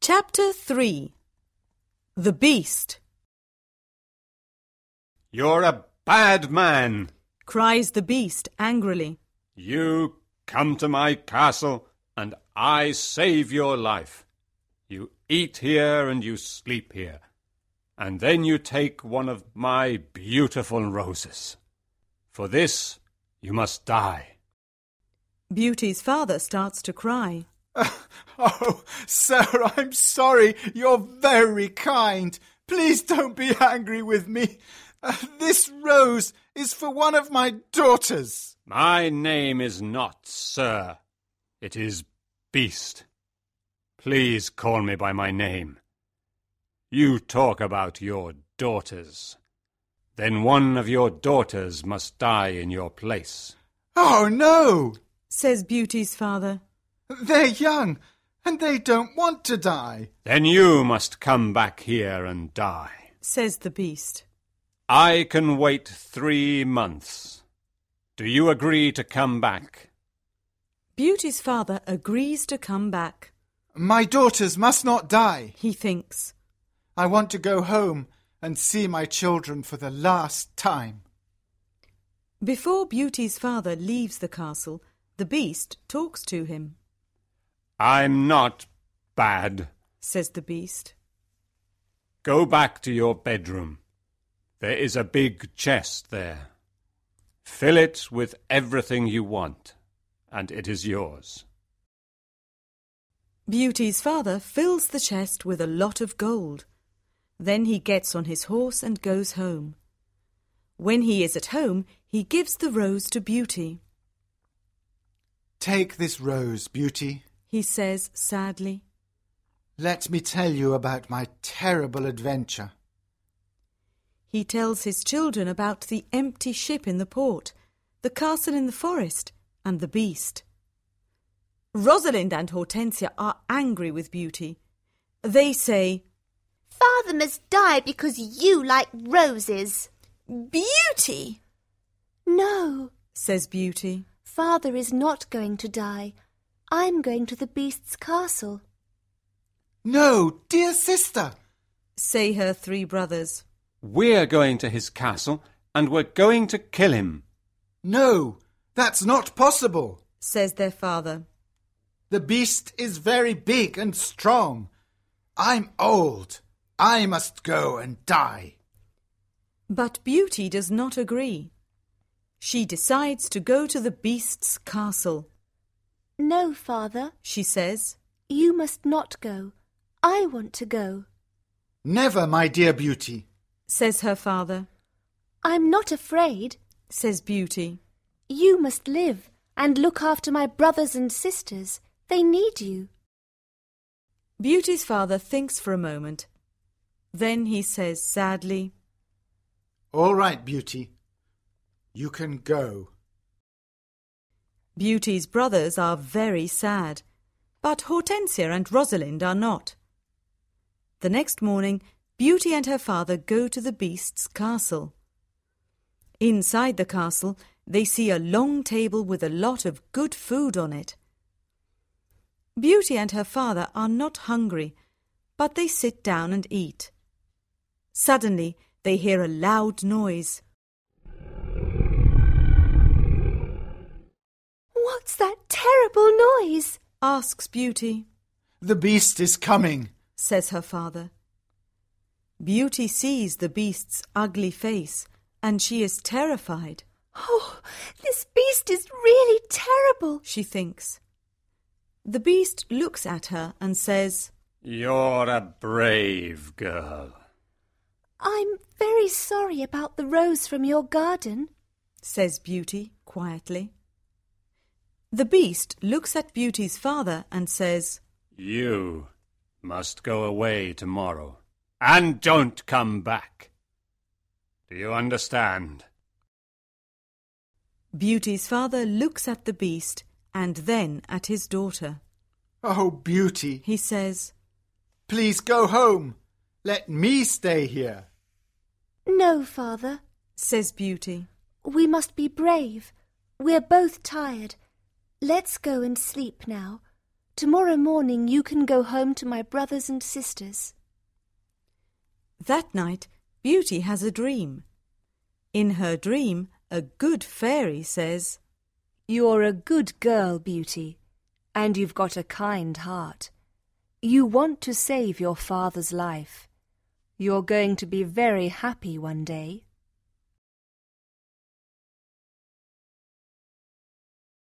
Chapter 3. The Beast. "You're a bad man," cries the Beast angrily. "You come to my castle, and I save your life. You eat here and you sleep here, and then you take one of my beautiful roses. For this you must die." Beauty's father starts to cry. Oh, sir, I'm sorry. You're very kind. Please don't be angry with me. This rose is for one of my daughters. My name is not Sir. It is Beast. Please call me by my name. You talk about your daughters. Then one of your daughters must die in your place. Oh, no, says Beauty's father. They're young, and they don't want to die. Then you must come back here and die, says the Beast. I can wait 3 months. Do you agree to come back? Beauty's father agrees to come back. My daughters must not die, he thinks. I want to go home and see my children for the last time. Before Beauty's father leaves the castle, the Beast talks to him. I'm not bad, says the Beast. Go back to your bedroom. There is a big chest there. Fill it with everything you want, and it is yours. Beauty's father fills the chest with a lot of gold. Then he gets on his horse and goes home. When he is at home, he gives the rose to Beauty. Take this rose, Beauty, he says sadly. Let me tell you about my terrible adventure. He tells his children about the empty ship in the port, the castle in the forest, and the Beast. Rosalind and Hortensia are angry with Beauty. They say, Father must die because you like roses. Beauty! No, says Beauty. Father is not going to die. I'm going to the Beast's castle. No, dear sister, say her 3 brothers. We're going to his castle, and we're going to kill him. No, that's not possible, says their father. The Beast is very big and strong. I'm old. I must go and die. But Beauty does not agree. She decides to go to the Beast's castle. No, Father, she says. You must not go. I want to go. Never, my dear Beauty, says her father. I'm not afraid, says Beauty. You must live and look after my brothers and sisters. They need you. Beauty's father thinks for a moment. Then he says sadly, All right, Beauty. You can go. Beauty's brothers are very sad, but Hortensia and Rosalind are not. The next morning, Beauty and her father go to the Beast's castle. Inside the castle, they see a long table with a lot of good food on it. Beauty and her father are not hungry, but they sit down and eat. Suddenly, they hear a loud noise. What's that terrible noise? asks Beauty. The Beast is coming, says her father. Beauty sees the Beast's ugly face, and she is terrified. Oh, this Beast is really terrible, she thinks. The Beast looks at her and says, You're a brave girl. I'm very sorry about the rose from your garden, says Beauty quietly. The Beast looks at Beauty's father and says, You must go away tomorrow, and don't come back. Do you understand? Beauty's father looks at the Beast and then at his daughter. Oh, Beauty, he says, please go home. Let me stay here. No, Father, says Beauty. We must be brave. We're both tired. Let's go and sleep now. Tomorrow morning you can go home to my brothers and sisters. That night, Beauty has a dream. In her dream, a good fairy says, You're a good girl, Beauty, and you've got a kind heart. You want to save your father's life. You're going to be very happy one day.